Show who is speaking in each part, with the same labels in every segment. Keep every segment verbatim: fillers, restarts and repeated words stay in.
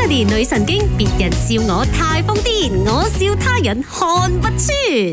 Speaker 1: Melody 女神經，別人笑我太瘋癲，我笑他人看不穿。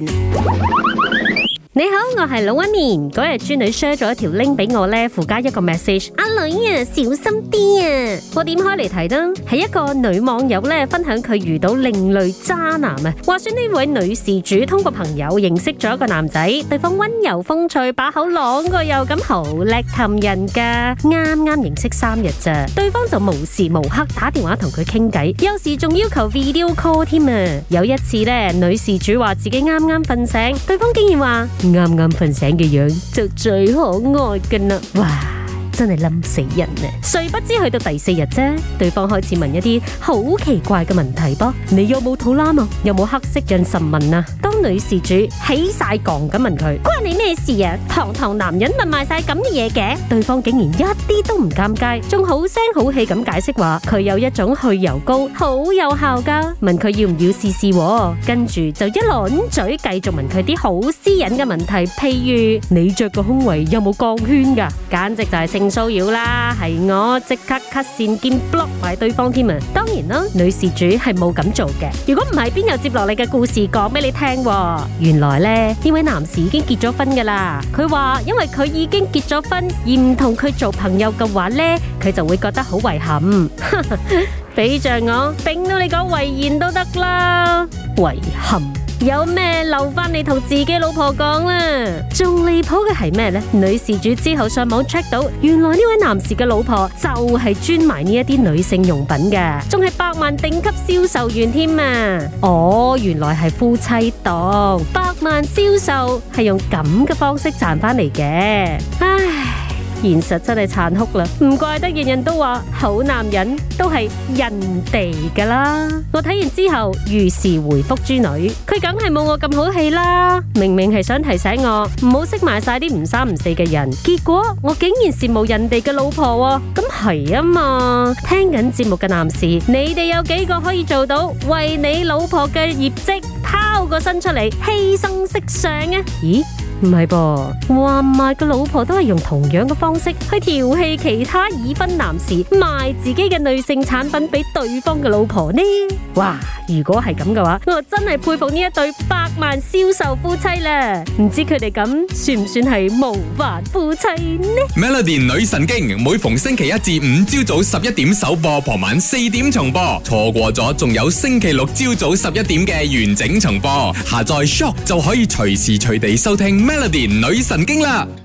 Speaker 1: 你好，我係老一面。嗰日豬女 share 咗一條 link 俾我呢，附加一個 message。阿女啊，小心啲啊！我點開嚟睇呢？係一個女網友呢，分享佢遇到另類渣男啊。話說呢位女事主通過朋友認識咗一個男仔，對方溫柔風趣，把口朗過又咁好叻氹人噶。啱啱認識三日咋，對方就無時無刻打電話同佢傾偈，有時仲要求 video call 添啊。有一次呢，女事主話自己啱啱瞓醒，對方竟然話啱啱瞓醒嘅樣就最可愛㗎啦！哇，真係冧死人啊！誰不知去到第四日啫，對方開始問一啲好奇怪嘅問題噃。你有冇肚腩啊？有冇黑色妊娠紋啊？當女事主起晒槓咁問佢，關你咩事啊？堂堂男人問埋晒咁嘅嘢嘅，對方竟然一啲都唔尷尬，仲好聲好氣咁解釋話佢有一種去油膏好有效噶，問佢要唔要試試喎。跟住就一輪嘴繼續問佢啲好私隱嘅問題，譬如你着個胸圍有冇鋼圈噶？簡直就係性騷擾啦！係我即刻 cut 線兼 block 埋對方添啊！當然啦，女事主係冇咁做嘅。如果唔係，邊有接落嚟嘅故事講俾你聽？原來咧，呢位男士已經結咗婚噶啦。佢話因為佢已經結咗婚，而唔同佢做朋友嘅話咧，佢就會覺得好遺憾。俾着我，頂到你講遺言都得啦。遺憾有咩留翻你同自己老婆講啦？仲離譜嘅係咩呢？女事主之後上網 check 到，原來呢位男士嘅老婆就係專賣呢一啲女性用品嘅，仲係百萬頂級銷售員添啊！哦，原來係夫妻檔，百萬銷售係用咁嘅方式賺翻嚟嘅，唉。現實真係殘酷啦，唔怪得人人都話好男人都係人哋噶啦。我睇完之後，如是回覆豬女，佢梗係冇我咁好氣啦。明明係想提醒我唔好識埋晒啲唔三唔四嘅人，結果我竟然羨慕人哋嘅老婆喎。咁係啊嘛，聽緊節目嘅男士，你哋有幾個可以做到為你老婆嘅業績拋個身出嚟犧牲色相啊？咦？唔係噃，話唔埋個老婆都係用同樣嘅方式去調戲其他已婚男士，賣自己嘅女性產品俾對方嘅老婆呢？哇！如果係咁嘅話，我真係佩服呢一對百萬銷售夫妻啦！唔知佢哋咁算唔算係模範夫妻呢
Speaker 2: ？Melody 女神經每逢星期一至五朝早十一點首播，傍晚四點重播，錯過咗仲有星期六朝早十一點嘅完整重播。下載 Shock 就可以隨時隨地收聽 Melody 女神經啦！